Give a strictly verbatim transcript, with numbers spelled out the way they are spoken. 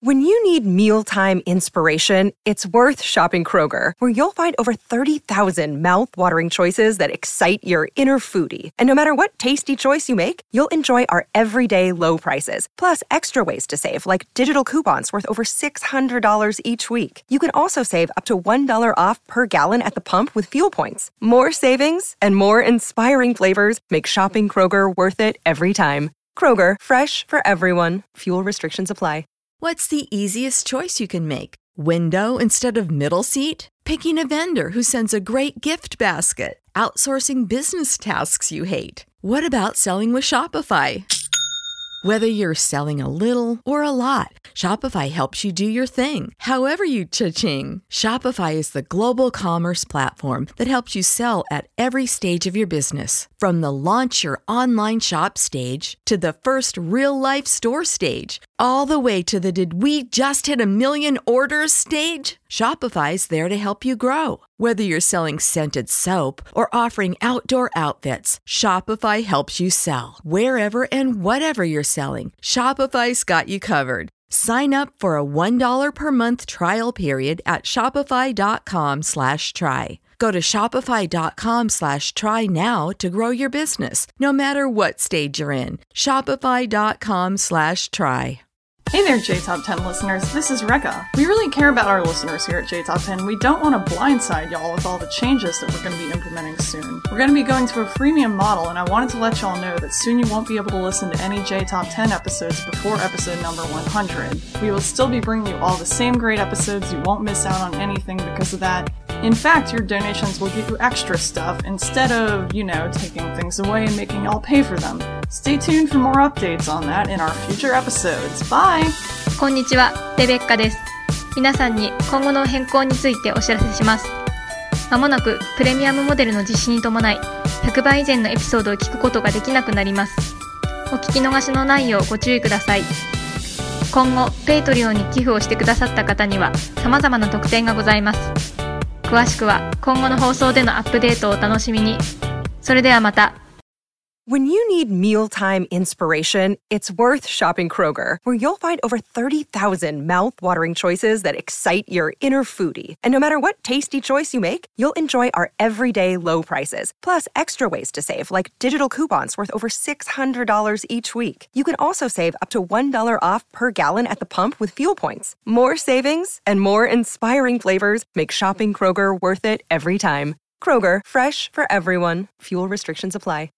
When you need mealtime inspiration, it's worth shopping Kroger, where you'll find over thirty thousand mouth-watering choices that excite your inner foodie. And no matter what tasty choice you make, you'll enjoy our everyday low prices, plus extra ways to save, like digital coupons worth over six hundred dollars each week. You can also save up to one dollar off per gallon at the pump with fuel points. More savings and more inspiring flavors make shopping Kroger worth it every time. Kroger, fresh for everyone. Fuel restrictions apply. What's the easiest choice you can make? Window instead of middle seat? Picking a vendor who sends a great gift basket? Outsourcing business tasks you hate? What about selling with Shopify? Whether you're selling a little or a lot, Shopify helps you do your thing, however you cha-ching. Shopify is the global commerce platform that helps you sell at every stage of your business. From the launch your online shop stage to the first real-life store stage, all the way to the did we just hit a million orders stage. Shopify's there to help you grow. Whether you're selling scented soap or offering outdoor outfits, Shopify helps you sell. Wherever and whatever you're selling, Shopify's got you covered. Sign up for a one dollar per month trial period at shopify.com slash try. Go to shopify.com slash try now to grow your business, no matter what stage you're in. Shopify.com slash try. Hey there, J Top ten listeners. This is Rekka. We really care about our listeners here at J Top ten. We don't want to blindside y'all with all the changes that we're going to be implementing soon. We're going to be going to a freemium model, and I wanted to let y'all know that soon you won't be able to listen to any J Top ten episodes before episode number one hundred. We will still be bringing you all the same great episodes. You won't miss out on anything because of that. In fact, your donations will get you extra stuff instead of, you know, taking things away and making y'all pay for them. Stay tuned for more updates on that in our future episodes. Bye! こんにちは、レベッカです。皆さんに今後の変更についてお知らせします。まもなくプレミアムモデルの実施に伴い、ひゃくばい以前のエピソードを聞くことができなくなります。お聞き逃しのないようご注意ください。今後、ペイトリオンに寄付をしてくださった方には様々な特典がございます。詳しくは今後の放送でのアップデートをお楽しみに。それではまた。 When you need mealtime inspiration, it's worth shopping Kroger, where you'll find over thirty thousand mouth-watering choices that excite your inner foodie. And no matter what tasty choice you make, you'll enjoy our everyday low prices, plus extra ways to save, like digital coupons worth over six hundred dollars each week. You can also save up to one dollar off per gallon at the pump with fuel points. More savings and more inspiring flavors make shopping Kroger worth it every time. Kroger, fresh for everyone. Fuel restrictions apply.